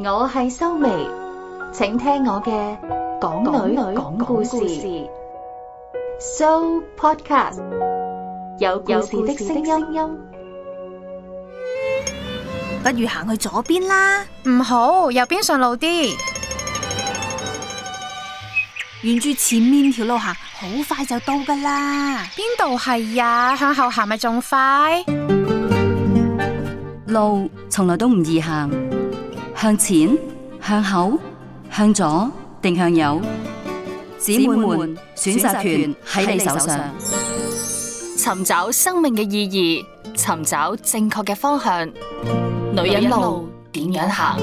我係修眉，請聽我嘅港女講故事So Podcast， 有故事的聲音。 不如行去左邊啦。 唔好，右邊順路啲。 沿住前面條路行，好快就到噶啦。 邊度係呀？向後行咪仲快？ 路從來都唔易行，向前、向後、向左定向右，姊妹們選擇權喺你手上。 尋找生命嘅意義，尋找正確嘅方向，女人路點樣行？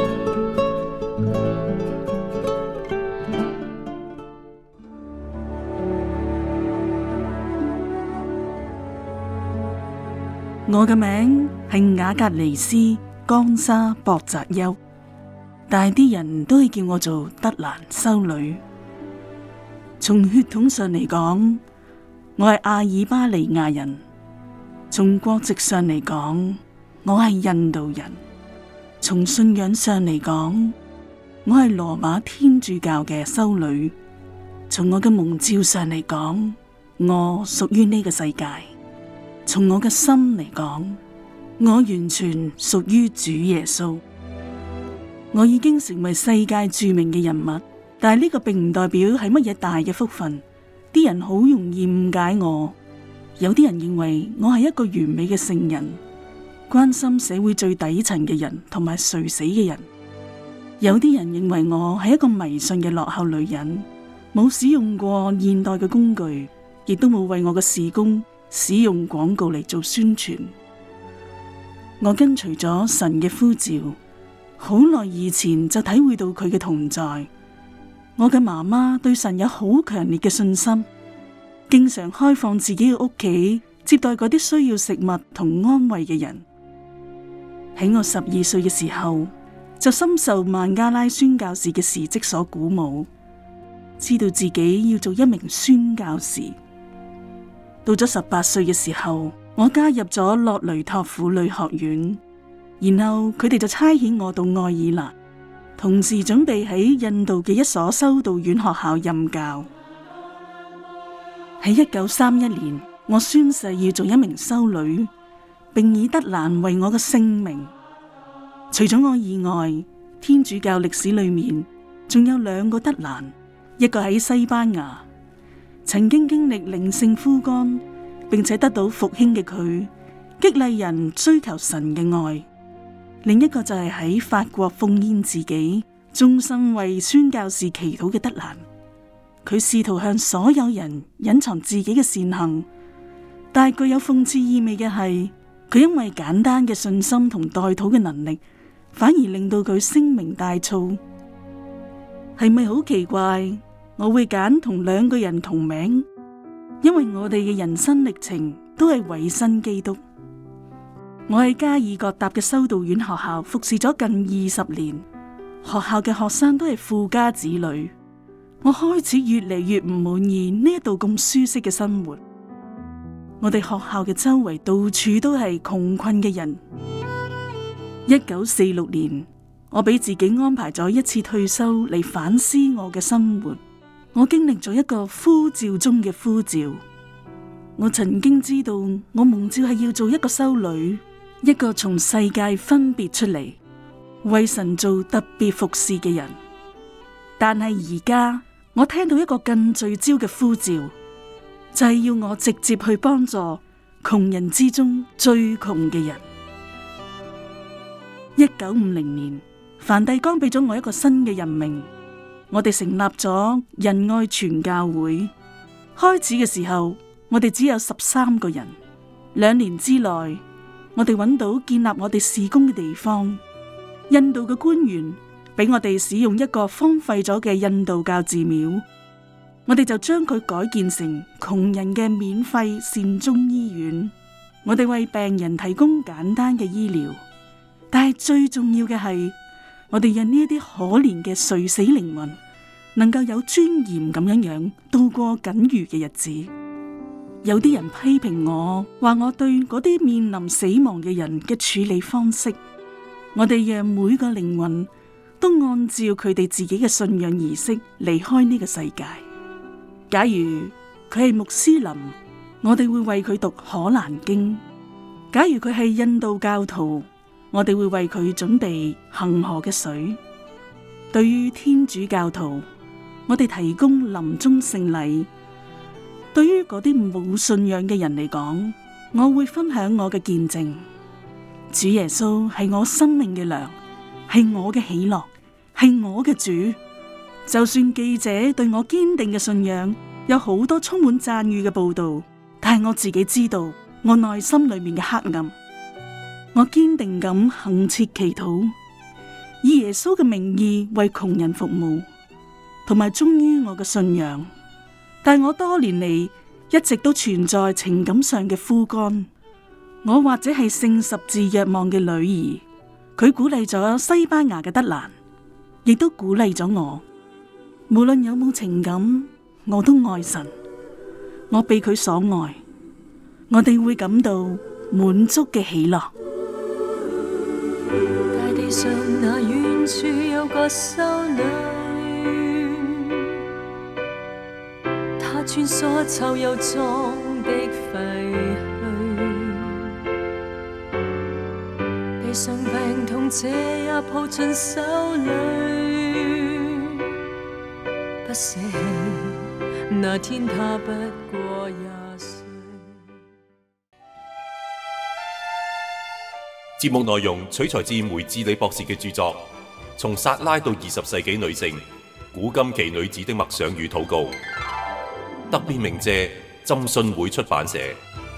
我嘅名係雅格尼斯江莎博澤丘，但係啲人都係叫我做德蘭修女。從血統上嚟講，我係阿爾巴尼亞人；從國籍上嚟講，我係印度人；從信仰上嚟講，我係羅馬天主教嘅修女；從我嘅蒙召上嚟講，我屬於呢個世界。從我嘅心嚟講，我完全屬於主耶穌。我已經成為世界著名嘅人物，但係呢個並唔代表係乜嘢大嘅福分。啲人好容易誤解我，有啲人認為我係一個完美嘅聖人，關心社會最底層嘅人同埋垂死嘅人。有啲人認為我係一個迷信嘅落後女人，冇使用過現代嘅工具，亦都冇為我嘅事工使用廣告嚟做宣傳。我跟隨咗神嘅呼召，好耐以前就體會到佢嘅同在。我嘅媽媽對神有好強烈嘅信心，經常開放自己嘅屋企，接待嗰啲需要食物同安慰嘅人。喺我12歲嘅時候，就深受孟加拉宣教士嘅事蹟所鼓舞，知道自己要做一名宣教士。到咗18歲嘅時候，我加入咗洛雷托婦女學院，然後佢哋就差遣我到愛爾蘭，同時準備喺印度嘅一所修道院學校任教。喺1931年，我宣誓要做一名修女，並以德蘭為我嘅姓名。除咗我以外，天主教歷史裏面仲有2個德蘭，一個喺西班牙，曾經經歷靈性枯乾，並且得到復興嘅佢，激勵人追求神嘅愛；另一個就係喺法國奉獻自己，終身為宣教士祈禱嘅德蘭。佢試圖向所有人隱藏自己嘅善行，但係具有諷刺意味嘅係，佢因為簡單嘅信心同代禱嘅能力，反而令到佢聲名大噪。係咪好奇怪？我會揀同2個人同名，因為我哋嘅人生歷程都係委身基督。我喺加爾各答嘅修道院學校服侍咗近20年，學校嘅學生都係富家子女。我開始越嚟越唔滿意呢一度咁舒適嘅生活。我哋學校嘅周圍到處都係窮困嘅人。1946年，我俾自己安排咗一次退休嚟反思我嘅生活。我經歷咗一個呼召中嘅呼召。我曾經知道我蒙召係要做一個修女，一個從世界分別出嚟，為神做特別服侍嘅人。但係而家我聽到一個更聚焦嘅呼召，就係要我直接去幫助窮人之中最窮嘅人。1950年，梵蒂岡俾咗我一個新嘅任命。我哋成立咗仁愛全教會。開始嘅時候，我哋只有13個人。2年之內，我哋揾到建立我哋事工嘅地方。印度嘅官員俾我哋使用一個荒廢咗嘅印度教寺廟，我哋就將佢改建成窮人嘅免費善終醫院。我哋為病人提供簡單嘅醫療，但係最重要嘅係，我哋讓呢一啲可憐嘅垂死靈魂能夠有尊嚴咁樣度過僅餘嘅日子。有啲人批評我，話我對嗰啲面臨死亡嘅人嘅處理方式，我哋讓每個靈魂都按照佢哋自己嘅信仰儀式離開呢個世界。假如佢係穆斯林，我哋會為佢讀可蘭經；假如佢係印度教徒，我哋會為佢準備恒河嘅水。對於天主教徒，我哋提供臨終聖禮。對於嗰啲冇信仰嘅人嚟講，我會分享我嘅見證。主耶穌係我生命嘅糧，係我嘅喜樂，係我嘅主。就算記者對我堅定嘅信仰有好多充滿讚譽嘅報道，但係我自己知道我內心裏面嘅黑暗。我堅定咁恆切祈禱，以耶穌嘅名義為窮人服務，同埋忠於我嘅信仰。但我多年嚟一直都存在情感上嘅枯乾。我或者係聖十字若望嘅女兒，佢鼓勵咗西班牙嘅德蘭，亦都鼓勵咗我。無論有冇情感，我都愛神，我被佢所愛，我哋會感到滿足嘅喜樂。 大地上那遠處有個修女，她穿梭臭又髒的廢墟，地上病痛者也抱進手裏，不捨棄那天她不過20歲。 節目內容取材自梅智理博士嘅著作《從撒拉到20世紀女性古今奇女子的默想與禱告》，特別鳴謝浸信會出版社。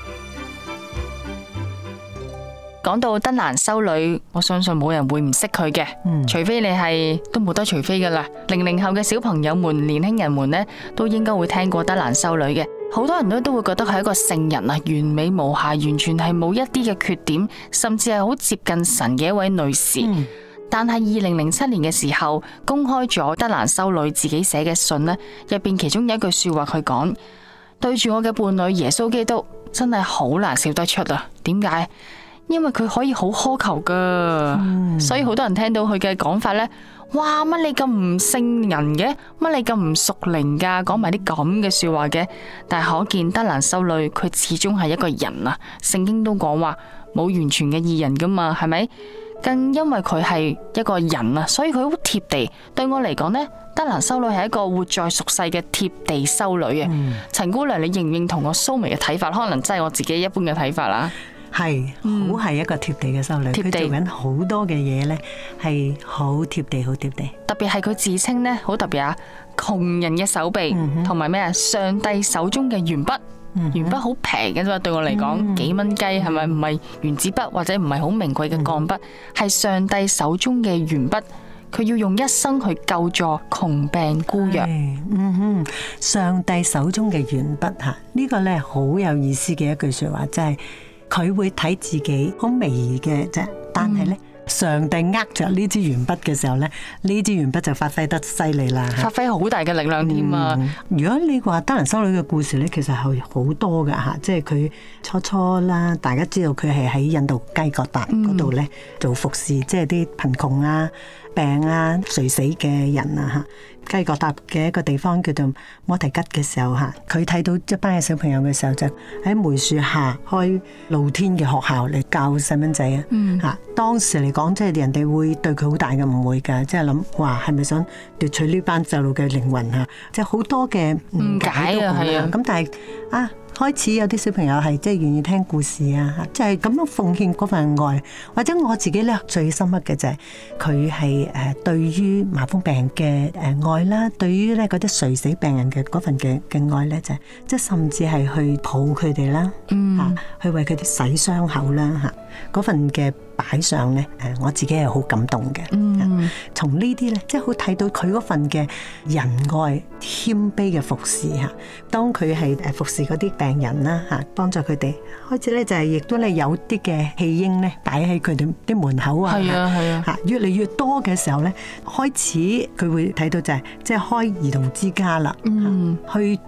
講到德蘭修女，我相信冇人會唔識佢嘅，除非你係都冇得除非噶啦。00後嘅小朋友們、年輕人們呢，都應該會聽過德蘭修女嘅。好多人都會覺得佢係一個聖人啊，完美無瑕，完全係冇一啲嘅缺點，甚至係好接近神嘅一位女士。但係2007年嘅時候，公開咗德蘭修女自己寫嘅信呢，入邊其中有一句說話，佢講：對住我嘅伴侶耶穌基督，真係好難笑得出啊！點解？因為佢可以好苛求噶，所以好多人聽到佢嘅講法呢：「哇，乜你咁唔聖人嘅，乜你咁唔屬靈噶，講埋啲咁嘅說話嘅。」但係可見德蘭修女佢始終係一個人啊，聖經都講話冇完全嘅義人噶嘛，係咪？更因為佢係一個人啊，所以佢好貼地。對我嚟講呢，德蘭修女係一個活在俗世嘅貼地修女啊。陳姑娘，你認唔認同我蘇眉嘅睇法？可能真係我自己一般嘅睇法啦。 係，好係一個貼地嘅修女，佢做緊好多嘅嘢呢，係好貼地，好貼地。 特別係佢自稱呢，好特別啊！窮人嘅手臂，同埋咩啊？上帝手中嘅鉛筆，鉛筆好平嘅啫，對我嚟講幾蚊雞，係咪？唔係原子筆或者唔係好名貴嘅鋼筆，係上帝手中嘅鉛筆。佢要用一生去救助窮病孤弱。 上帝手中嘅鉛筆吓，呢個呢好有意思嘅一句說話，即係。佢會睇自己好微嘅啫，但係咧，上帝握着呢支鉛筆嘅時候咧，呢支鉛筆就發揮得犀利啦， 發揮好大嘅力量添啊！ 如果你話德蘭修女嘅故事咧，其實係好多㗎吓，即係佢初啦，大家知道佢係喺印度雞各達嗰度咧做服侍，即係啲貧窮啊、病啊、垂死嘅人啊吓。雞各達嘅一個地方叫做摩提吉嘅時候吓，佢睇到一班嘅小朋友嘅時候，就喺梅樹下開露天嘅學校嚟教細蚊仔啊！吓，當時嚟講，即係人哋會對佢好大嘅誤會噶，即係諗話係咪想奪取呢班細路嘅靈魂啊？即係好多嘅誤解啊，係啊！咁但係啊。開始有啲小朋友係即係願意聽故事啊，即係咁樣奉獻嗰份愛，或者我自己咧最深刻嘅就係佢係對於麻風病人嘅愛啦，對於咧嗰啲垂死病人嘅嗰份嘅愛咧就係即係甚至係去抱佢哋啦，去為佢哋洗傷口啦嚇，嗰份嘅擺上咧我自己係好感動嘅。從呢啲咧即係好睇到佢嗰份嘅仁愛謙卑嘅服侍嚇，當佢係服侍嗰啲病人啦嚇，幫助佢哋開始咧就係亦都咧有啲嘅棄嬰咧擺喺佢哋啲門口啊，係啊嚇，越嚟越多嘅時候咧，開始佢會睇到就係即係開兒童之家啦，去執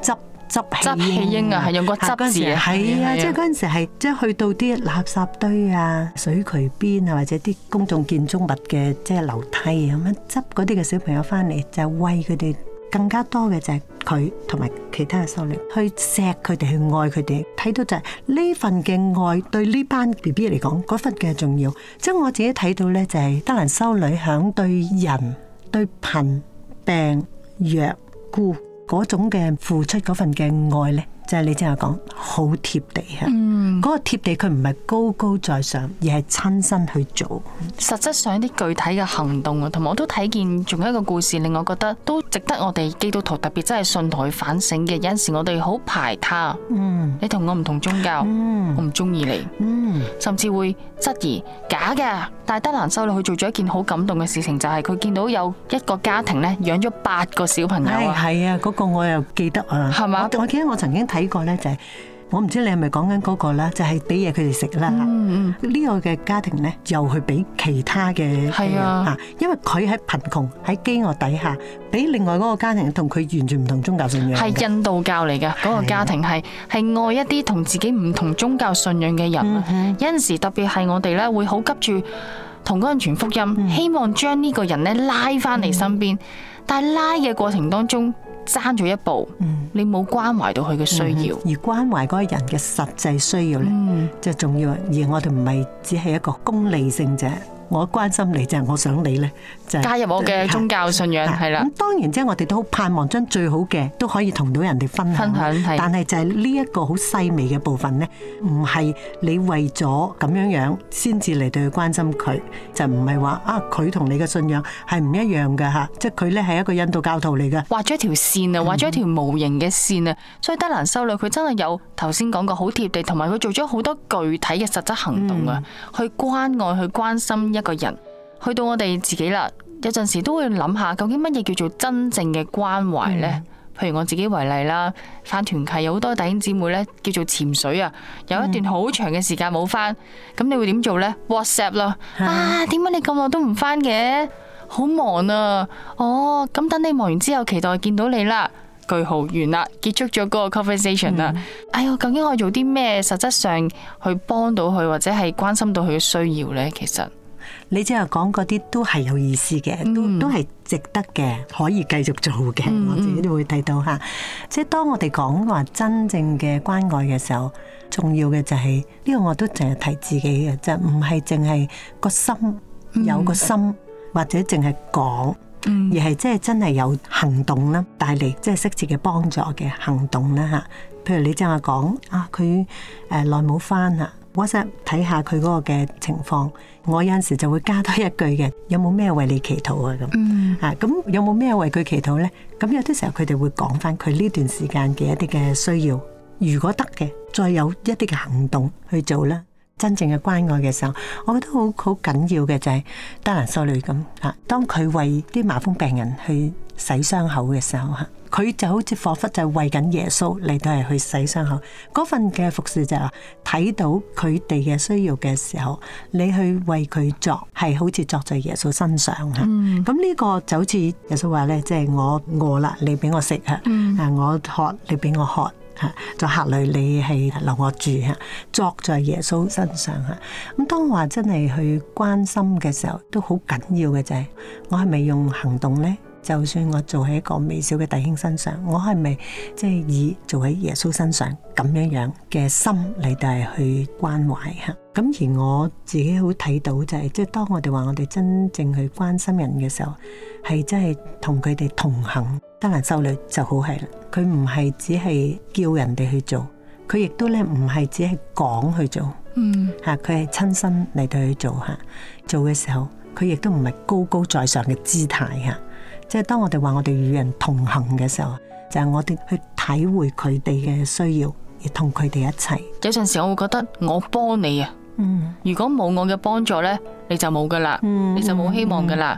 執棄嬰啊，係用個執字啊， 係啊，即係嗰陣時係即係去到啲垃圾堆啊、水渠邊啊，或者啲公眾建築物嘅即係樓梯咁樣執嗰啲嘅小朋友翻嚟，就餵佢哋。更加多嘅就係佢同埋其他嘅修女去錫佢哋，去愛佢哋，睇到就係呢份嘅愛對呢班 BB 嚟講嗰份嘅重要。即係我自己睇到呢，就係德蘭修女響對人、對貧病弱孤嗰種嘅付出嗰份嘅愛呢，就係你正話講好貼地啊！嗰個貼地佢唔係高高在上，而係親身去做， 實質上一啲具體嘅行動啊，同埋我都睇見仲有一個故事令我覺得都值得我哋基督徒特別真係信徒去反省嘅。有陣時我哋好排他，你同我唔同宗教，我唔中意你，甚至會質疑假嘅。但係德蘭修女佢做咗一件好感動嘅事情，就係佢見到有一個家庭咧養咗8個小朋友啊， 係啊，嗰個我又記得啊，係嘛？我記得我曾經睇過咧，就係我唔知你係咪講緊嗰個啦，就係俾嘢佢哋食啦。呢個嘅家庭咧，又去俾其他嘅係啊，因為佢喺貧窮喺飢餓底下，俾另外嗰個家庭同佢完全唔同宗教信仰，係印度教嚟嘅嗰個家庭，係愛一啲同自己唔同宗教信仰嘅人。有陣時特別係我哋咧會好急住同嗰人傳福音，希望將呢個人咧拉翻嚟身邊，但係拉嘅過程當中，爭咗一步，你冇關懷到佢嘅需要， 而關懷嗰個人嘅實際需要咧，就重要。而我哋唔係只係一個功利性者。我關心你就係我想你咧，就加入我嘅宗教信仰係啦。 咁當然即係我哋都好盼望將最好嘅都可以同到人哋分享。但係就係呢一個好細微嘅部分咧，唔係你為咗咁樣先至嚟到去關心佢，就唔係話啊佢同你嘅信仰係唔一樣嘅嚇，即係佢咧係一個印度教徒嚟嘅， 畫咗一條線啊，畫咗一條無形嘅線啊。所以德蘭修女佢真係有頭先講過好貼地，同埋佢做咗好多具體嘅實質行動啊，去關愛、去關心一個人。去到我哋自己啦，有陣時都會諗下究竟乜嘢叫做真正嘅關懷呢？譬如我自己為例啦，返團契有好多弟兄姊妹咧叫做潛水啊，有一段好長嘅時間冇返，咁你會點做呢？ WhatsApp 啦，啊，點解你咁耐都唔返嘅？好忙啊！哦，咁等你忙完之後，期待見到你啦。句號完啦，結束咗嗰個 conversation 啦。哎喲，究竟可以做啲咩？實質上去幫到佢，或者係關心到佢嘅需要呢？其實。 你即係講嗰啲都係有意思嘅，都係值得嘅，可以繼續做嘅。我自己都會睇到嚇。即係當我哋講話真正嘅關愛嘅時候，重要嘅就係呢個我都淨係提自己嘅，就唔係淨係個心有個心，或者淨係講，而係即係真係有行動啦，帶嚟即係適切嘅幫助嘅行動啦嚇。譬如你正話講啊，佢耐冇返啊。WhatsApp 睇下佢嗰個嘅情況，我有陣時就會加多一句嘅，有冇咩為你祈禱啊咁，咁有冇咩為佢祈禱呢？咁有啲時候佢哋會講翻佢呢段時間嘅一啲嘅需要，如果得嘅，再有一啲嘅行動去做啦。真正嘅關愛嘅時候，我覺得好緊要嘅就係德蘭修女咁嚇，當佢為啲麻風病人去洗傷口嘅時候嚇，佢就好似彷彿就係為緊耶穌嚟到係去洗傷口。嗰份嘅服侍就係話睇到佢哋嘅需要嘅時候，你去為佢作，係好似作在耶穌身上嚇。咁呢個就好似耶穌話咧，即係我餓啦，你俾我食嚇；我渴，你俾我喝。在客旅你係留我住嚇，作在耶穌身上嚇。咁當我話真係去關心嘅時候，都好緊要嘅就係我係咪用行動呢？就算我做喺一個微小嘅弟兄身上，我係咪即係以做喺耶穌身上咁樣嘅心嚟到係去關懷嚇？咁而我自己好睇到就係，即係當我哋話我哋真正去關心人嘅時候，係真係同佢哋同行。德蘭修女就好係啦，佢唔係只係叫人哋去做，佢亦都咧唔係只係講去做，佢係親身嚟到去做嚇。做嘅時候，佢亦都唔係高高在上嘅姿態嚇。即係當我哋話我哋與人同行嘅時候，就係我哋去體會佢哋嘅需要，而同佢哋一齊。 有陣時我會覺得我幫你啊，如果冇我嘅幫助呢，你就冇噶啦，你就冇希望噶啦。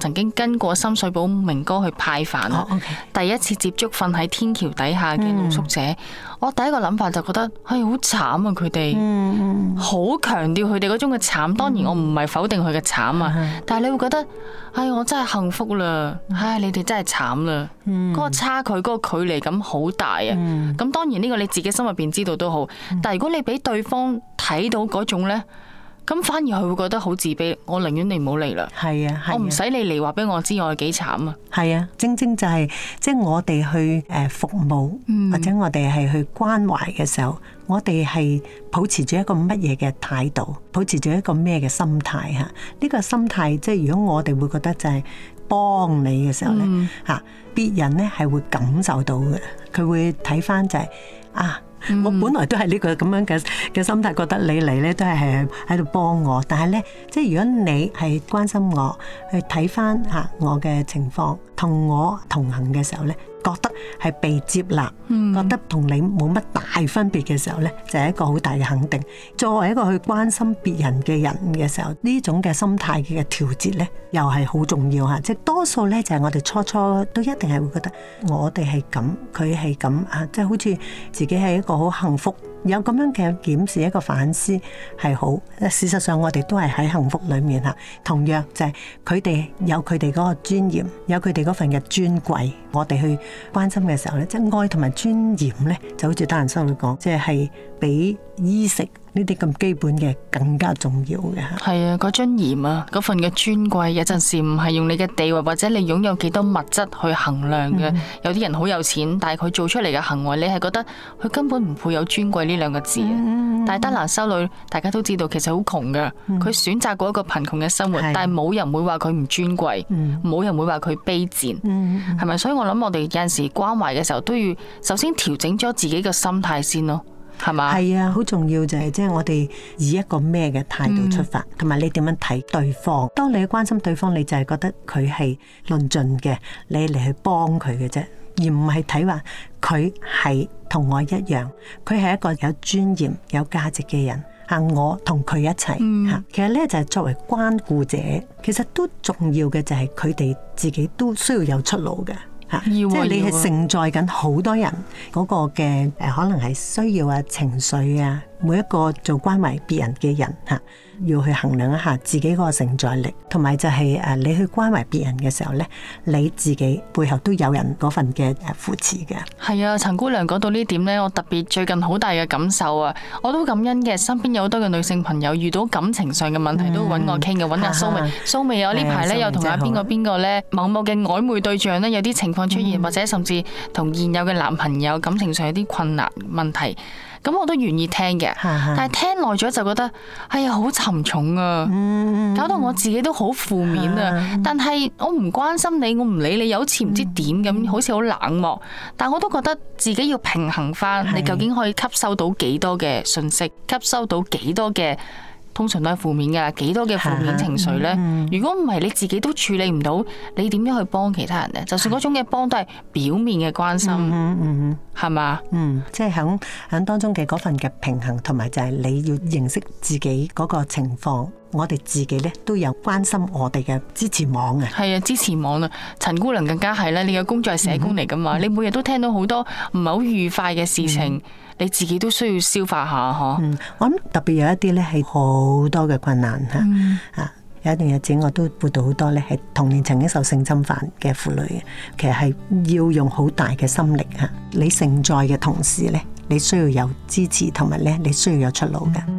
曾經跟過深水埗明哥去派飯啦。第一次接觸瞓喺天橋底下嘅露宿者，我第一個諗法就覺得係好慘啊！佢哋好強調佢哋嗰種嘅慘。當然我唔係否定佢嘅慘啊，但係你會覺得，我真係幸福啦，你哋真係慘啦。嗰個差距，嗰個距離感好大啊。咁當然呢個你自己心入邊知道都好，但係如果你俾對方睇到嗰種呢，咁反而佢會覺得好自卑。我寧願你唔好嚟啦。係啊，我唔使你嚟話俾我知我係幾慘啊。 係啊，正正就係即係我哋去服務，或者我哋係去關懷嘅時候，我哋係保持住一個乜嘢嘅態度，保持住一個咩嘅心態吓？呢個心態即係如果我哋會覺得就係幫你嘅時候咧，別人咧係會感受到嘅，佢會睇翻就係我本來都係呢個咁樣嘅心態，覺得你嚟咧都係喺度幫我，但係咧，即係如果你係關心我，去睇翻我嘅情況，同我同行嘅時候咧，覺得係被接納，覺得同你冇乜大分別嘅時候咧，就係一個好大嘅肯定。作為一個去關心別人嘅人嘅時候，呢種嘅心態嘅調節咧，又係好重要吓。即係多數咧，就係我哋初初都一定係會覺得我哋係咁，佢係咁即係好似自己係一個好幸福。有咁樣嘅檢視，一個反思係好。事實上我哋都係喺幸福裏面吓，同樣就係佢哋有佢哋嗰個尊嚴，有佢哋嗰份嘅尊貴，我哋去關心嘅時候咧，即係愛同埋尊嚴咧，就好似德蘭修女講，即係比衣食呢啲咁基本嘅更加重要嘅。 係啊，嗰尊嚴啊，嗰份嘅尊貴，有陣時唔係用你嘅地位或者你擁有幾多物質去衡量嘅。有啲人好有錢，但係佢做出嚟嘅行為，你係覺得佢根本唔配有尊貴呢兩個字。但係德蘭修女，大家都知道其實好窮噶，佢選擇過一個貧窮嘅生活，但係冇人會話佢唔尊貴，冇人會話佢卑賤，係咪？所以我諗我哋有陣時關懷嘅時候，都要首先調整咗自己嘅心態先咯。係嘛？係啊，好重要就係即係我哋以一個咩嘅態度出發，同埋你點樣睇對方。當你關心對方，你就係覺得佢係論盡嘅，你嚟去幫佢嘅啫，而唔係睇話佢係同我一樣，佢係一個有尊嚴、有價值嘅人。我同佢一齊。其實咧就係作為關顧者，其實都重要嘅就係佢哋自己都需要有出路嘅。即係你係承載緊好多人嗰個嘅可能係需要啊、情緒啊，每一個做關懷別人嘅人要去衡量一下自己嗰個承載力，同埋就係你去關懷別人嘅時候咧，你自己背後都有人嗰份嘅扶持嘅。 係啊，陳姑娘講到呢點咧，我特別最近好大嘅感受啊！我都感恩嘅，身邊有好多嘅女性朋友遇到感情上嘅問題都揾我傾嘅，揾阿蘇眉。蘇眉我呢排咧又同阿邊個咧某嘅曖昧對象咧有啲情況出現，或者甚至同現有嘅男朋友感情上有啲困難問題。咁我都願意聽嘅，但係聽耐咗就覺得好沉重啊，搞到我自己都好負面啊。但係我唔關心你，我唔理你，又好似唔知點咁，好似好冷漠。但我都覺得自己要平衡翻，你究竟可以吸收到幾多嘅信息，吸收到幾多嘅。通常都係負面㗎，幾多嘅負面情緒呢？如果唔係你自己都處理唔到，你點樣去幫其他人呢？就算嗰種嘅幫都係表面嘅關心，係嘛？ 即係響當中嘅嗰份嘅平衡，同埋就係你要認識自己嗰個情況。我哋自己咧都有關心我哋嘅支持網嘅。係啊，支持網啊，陳姑娘更加係啦。你嘅工作係社工嚟噶嘛？你每日都聽到好多唔係好愉快嘅事情，你自己都需要消化下嗬。 我諗特別有一啲咧係好多嘅困難吓。有一段日子我都輔導好多咧係童年曾經受性侵犯嘅婦女嘅，其實係要用好大嘅心力吓。你承載嘅同時咧，你需要有支持，同埋咧你需要有出路嘅。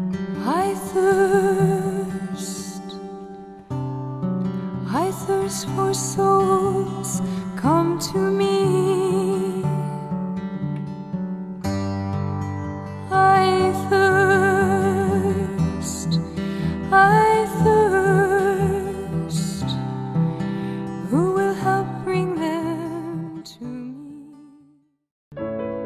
I thirst for souls, come to me. I thirst, who will help bring them to me?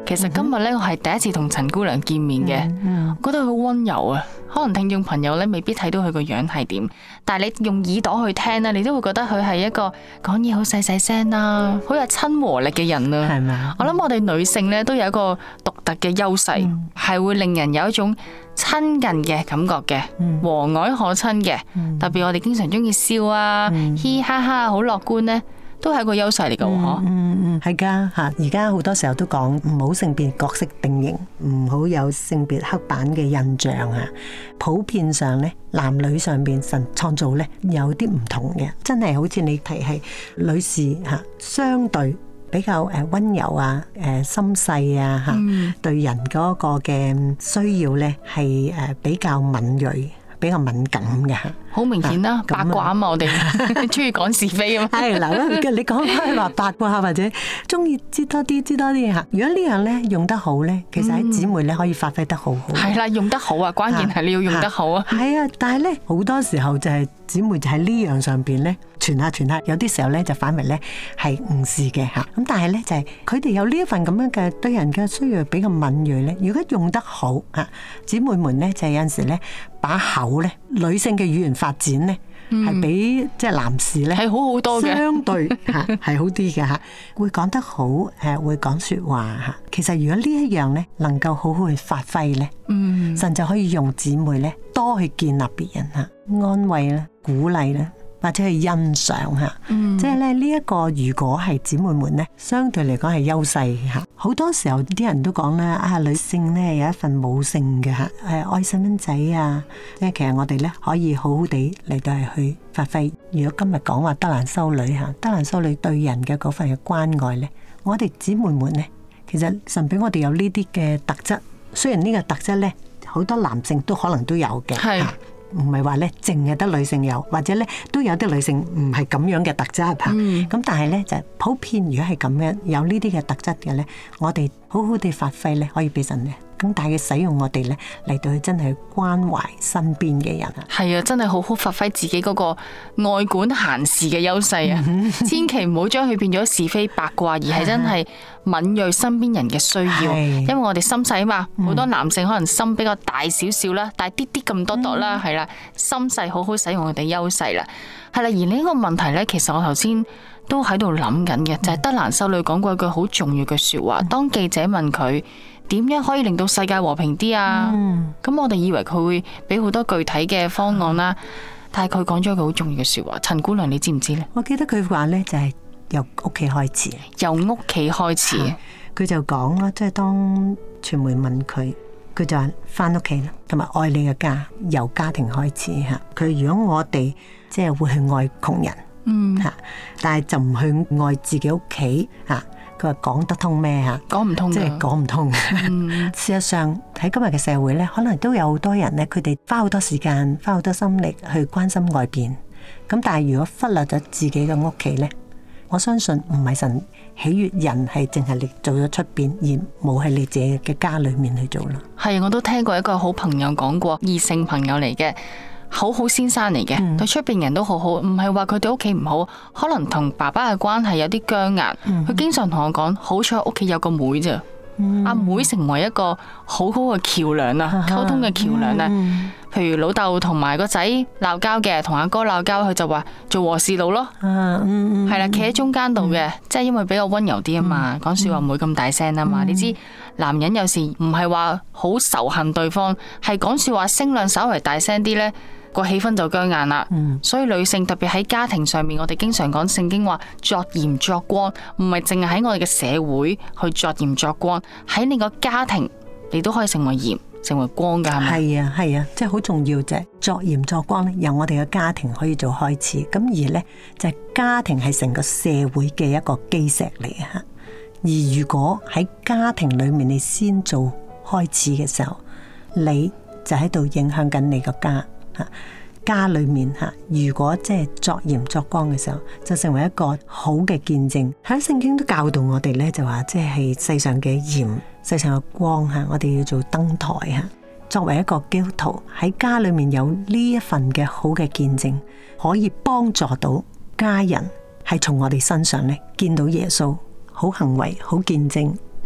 其實今日咧我係第一次同陳姑娘見面嘅，覺得佢好溫柔啊。可能聽眾朋友咧未必睇到佢個樣係點，但係你用耳朵去聽咧，你都會覺得佢係一個講嘢好細細聲啦，好有親和力嘅人啊。係咪？我諗我哋女性咧都有一個獨特嘅優勢，係會令人有一種親近嘅感覺嘅，和藹可親嘅。特別我哋經常中意笑啊，嘻嘻哈哈，好樂觀咧。都係一個優勢嚟噶，嗬。 係噶吓，而家好多時候都講唔好性別角色定型，唔好有性別刻板嘅印象啊。普遍上咧，男女上邊神創造咧有啲唔同嘅，真係好似你提係女士吓，相對比較溫柔啊，心細啊吓，對人嗰個嘅需要咧係比較敏銳。比較敏感嘅， 好明顯啦，八卦啊嘛，我哋中意講是非啊嘛。 係嗱，你講開話八卦或者中意知多啲吓。如果呢樣咧用得好咧，其實喺姊妹咧可以發揮得好好。係啦，用得好啊，關鍵係你要用得好啊。 係啊，但係咧好多時候就係姊妹就喺呢樣上邊咧傳下，有啲時候咧就反為咧係誤事嘅吓。咁但係咧就係佢哋有呢一份咁樣嘅對人嘅需要比較敏銳咧。如果用得好吓，姊妹們咧就係有陣時咧把口咧，女性嘅語言發展咧係比即係男士咧係好好多嘅， 相對吓係好啲嘅吓，會講得好會講說話吓。其實如果呢一樣咧能夠好好去發揮咧，神就可以用姊妹咧多去建立別人吓，安慰啦、鼓勵啦，或者去欣賞吓。即係咧呢一個如果係姊妹們咧，相對嚟講係優勢吓。好多時候啲人都講啦，啊女性咧有一份母性嘅吓，愛細蚊仔啊，即係其實我哋咧可以好好地嚟到係去發揮。如果今日講話德蘭修女吓，德蘭修女對人嘅嗰份嘅關愛咧，我哋姊妹們咧，其實神俾我哋有呢啲嘅特質。雖然呢個特質咧，好多男性都可能都有嘅，係唔係話咧淨係得女性有，或者咧都有啲女性唔係咁樣嘅特質吓。咁但係咧就普遍，如果係咁樣有呢啲嘅特質嘅咧，我哋好好地發揮咧，可以俾神咧更大嘅使用我哋咧嚟到去真係關懷身邊嘅人啊。 係啊，真係好好發揮自己嗰個愛管閒事嘅優勢啊！千祈唔好將佢變咗是非八卦，而係真係敏銳身邊人嘅需要。因為我哋心細啊嘛，好多男性可能心比較大少少啦，大啲啲咁多啦，係啦，心細好好使用我哋優勢啦。係啦，而呢個問題咧，其實我頭先都喺度諗緊嘅，就係德蘭修女講過一句好重要嘅說話。當記者問佢點樣可以令到世界和平啲啊？咁我哋以為佢會俾好多具體嘅方案啦，但係佢講咗一句好重要嘅說話。陳姑娘，你知唔知呢？ 我記得佢話呢，就係由屋企開始， 由屋企開始。 佢就講啦，即係當傳媒問佢，佢就話翻屋企啦，同埋愛你嘅家，由家庭開始吓。佢如果我哋即係會去愛窮人，吓，但係就唔去愛自己屋企吓。佢話講得通咩吓？講唔通，即係講唔通。事實上喺今日嘅社會咧，可能都有好多人咧，佢哋花好多時間、花好多心力去關心外邊。咁但係如果忽略咗自己嘅屋企咧，我相信唔係神喜悅人係淨係你做咗出邊，而冇喺你自己嘅家裏面去做咯。 係，我都聽過一個好朋友講過，異性朋友嚟嘅。好好先生嚟嘅，對出邊人都好好，唔係話佢對屋企唔好，可能同爸爸嘅關係有啲僵硬。佢經常同我講，好彩屋企有個妹咋，阿妹成為一個好好嘅橋梁啊，溝通嘅橋梁啊。譬如老豆同埋個仔鬧交嘅，同阿哥鬧交，佢就話做和事佬咯，係啦，企喺中間度嘅，即係因為比較溫柔啲啊嘛，講說話唔會咁大聲啊嘛。你知男人有時唔係話好仇恨對方，係講說話聲量稍微大聲啲呢，個氣氛就僵硬啦。所以女性特別喺家庭上面，我哋經常講聖經話作鹽作光，唔係淨係喺我哋嘅社會去作鹽作光，喺你個家庭你都可以成為鹽成為光噶，係咪？係啊，係啊，即係好重要啫。作鹽作光咧，由我哋嘅家庭可以做開始。咁而咧就係家庭係成個社會嘅一個基石嚟嘅吓。而如果喺家庭裏面你先做開始嘅時候，你就喺度影響緊你個家吓。家裏面吓，如果即係作鹽作光嘅時候，就成為一個好嘅見證。喺聖經都教導我哋咧，就話即係世上嘅鹽。世上嘅光吓，我哋要做燈台吓。作為一個基督徒喺家裏面有呢一份嘅好嘅見證，可以幫助到家人係從我哋身上咧見到耶穌好行為、好見證，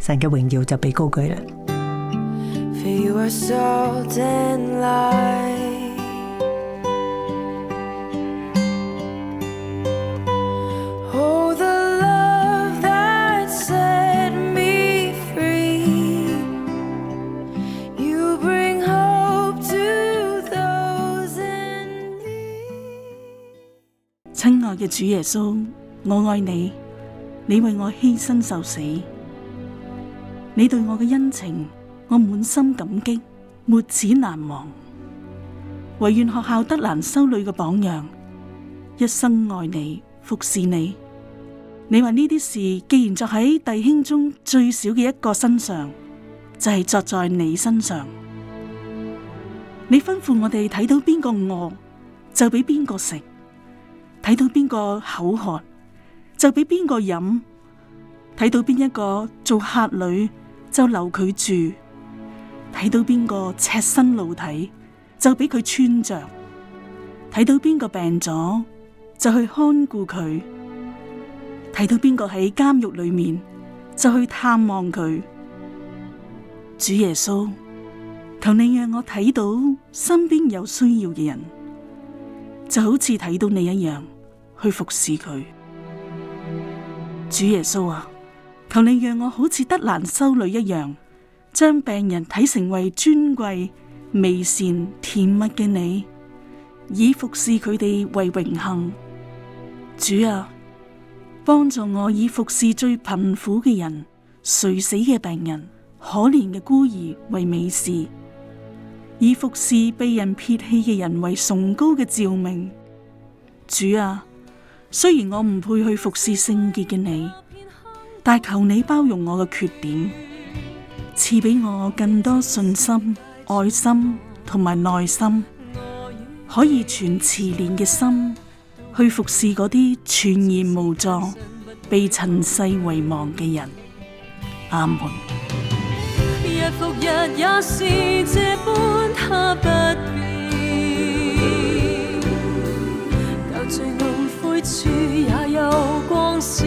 神嘅榮耀就被高舉啦。 For you are salt and light. Oh, the love that set me free. You bring hope to those in need. 親愛嘅主耶穌，我愛你，你為我犧牲受死，你對我嘅恩情，我滿心感激，沒齒難忘。唯願學校德蘭修女嘅榜樣，一生愛你，服侍你。你話呢啲事，既然作喺弟兄中最小嘅一個身上，就係作在你身上。你吩咐我哋睇到邊個餓，就俾邊個食；睇到邊個口渴，就俾邊個飲；睇到邊一個做客旅，就留佢住；睇到邊個赤身露體，就俾佢穿着；睇到邊個病咗，就去看顧佢；睇到邊個喺監獄裏面，就去探望佢。主耶穌，求你讓我睇到身邊有需要嘅人，就好似睇到你一樣去服侍佢。主耶穌啊，求你讓我好似德蘭修女一樣，將病人睇成為尊貴、美善、甜蜜嘅你，以服侍佢哋為榮幸。主啊，幫助我以服侍最貧苦嘅人、垂死嘅病人、可憐嘅孤兒為美事，以服侍被人撇棄嘅人為崇高嘅召命。主啊，雖然我唔配去服侍聖潔嘅你，但求你包容我嘅缺點，賜俾我更多信心、愛心同埋耐心，可以存慈憐嘅心去服侍嗰啲全然無助、被塵世遺忘嘅人。阿門。 日復日也是這般，他不變，舊罪惡灰處也有光線。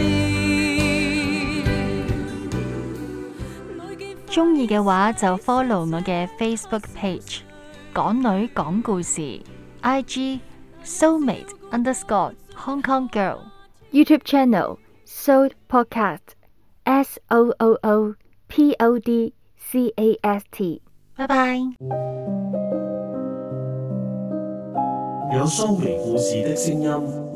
鍾意嘅話就 follow 我嘅 Facebook page 港女講故事， IG soulmate_Hong Kong Girl， YouTube channel Soul Podcast SOOOPODCAST。拜拜。 有蘇眉故事的聲音。